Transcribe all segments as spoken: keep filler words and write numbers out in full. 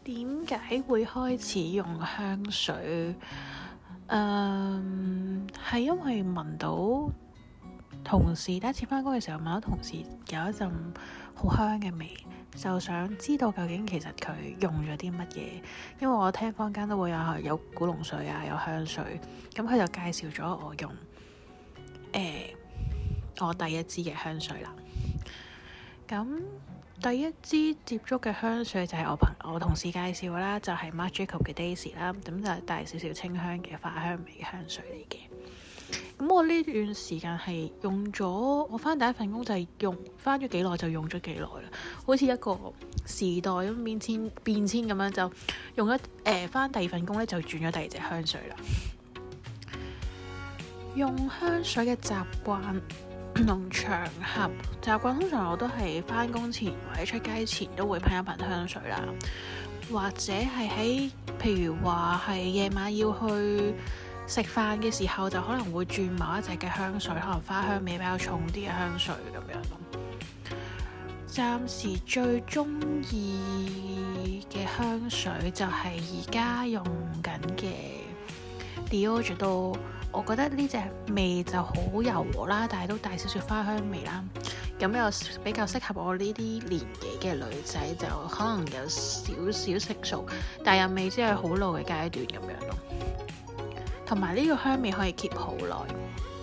點解會開始用香水？嗯，係因為聞到同事第一次返工嘅時候，聞到同事有一陣好香嘅味，就想知道究竟其實佢用咗啲乜嘢。因為我聽坊間都會有有古龍水啊，有香水，咁佢就介紹咗我用誒、呃、我第一支嘅香水啦。咁第一支接觸嘅香水就係我朋我同事介紹啦，就係、是、Marc Jacobs 嘅 Daisy 啦，咁就係帶少少清香嘅花香味嘅香水嚟嘅。咁我呢段時間係用咗，我返第一份工就係用返咗幾耐就用咗幾耐啦，好似一個時代咁變遷變遷咁樣，就用咗誒返第二份工咧就轉咗第二隻香水啦。用香水嘅習慣同場合習慣，通常我都係返工前或者出街前都會噴一噴香水啦，或者係喺譬如話係夜晚要去食飯嘅時候，就可能會轉某一隻嘅香水，可能花香味比較重啲嘅香水咁樣咯。暫時最中意嘅香水就係而家用緊嘅 Dior J'adore，我覺得呢隻味就好柔和啦，但係都帶少少花香味啦。咁又比較適合我呢啲年紀嘅女仔，就可能有少少成熟，但又未知係好老嘅階段咁樣咯。同埋呢個香味可以 keep 好耐。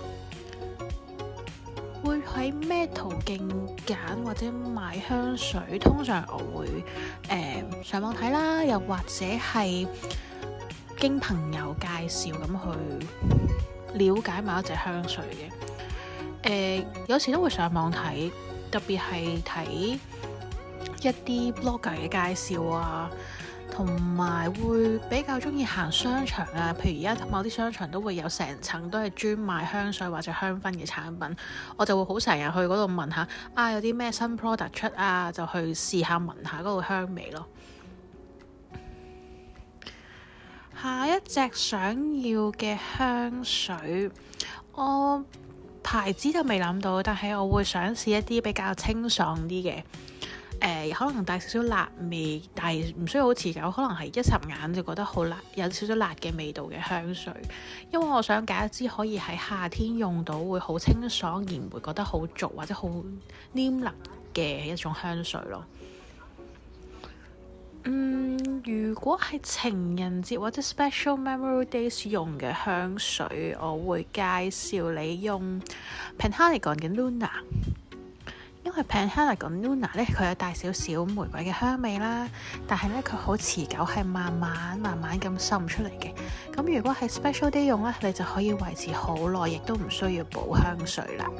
會喺咩途徑揀或者買香水？通常我會誒、呃、上網睇啦，又或者係經朋友介紹咁去了解某一隻香水嘅。誒、呃、有時都會上網睇，特別係睇一啲 blogger 嘅介紹啊。同埋會比較中意行商場啊，譬如而家某啲商場都會有成層都係專賣香水或者香薰嘅產品，我就會好成日去嗰度問下啊，有啲咩新 product 出啊，就去試下聞下嗰個香味咯。下一隻想要嘅香水，我牌子就未諗到，但係我會想試一啲比較清爽啲嘅。誒、呃、可能帶少少辣味，但係唔需要好持久，可能係一霎眼就覺得好辣，有少少辣嘅味道嘅香水。因為我想揀一支可以喺夏天用到，會好清爽而唔會覺得好濁或者好黏膩嘅一種香水咯。嗯，如果係情人節或者 Special Memory Days 用嘅香水，我會介紹你用 Penhaligon 嘅 Luna。因為 Penhaligon Luna 咧，佢有帶少少玫瑰嘅香味啦，但係咧佢好持久，係慢慢慢慢咁滲出嚟嘅。咁如果係 Special Day 用咧，你就可以維持好耐，亦都唔需要補香水啦。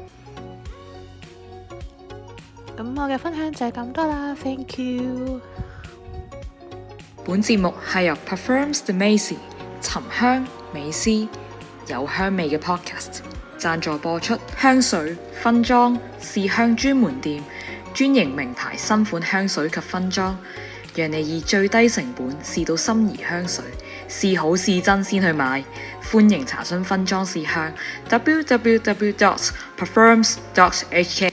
咁我嘅分享就係咁多啦 ，Thank you。 本節目係由 Parfums de Macy 沉香美思有香味嘅 Podcast贊助播出。香水、分裝、試香專門店，專營名牌新款香水及分裝，讓你以最低成本試到心儀香水，試好試真先去買。歡迎查詢分裝試香 w w w dot parfums dot h k。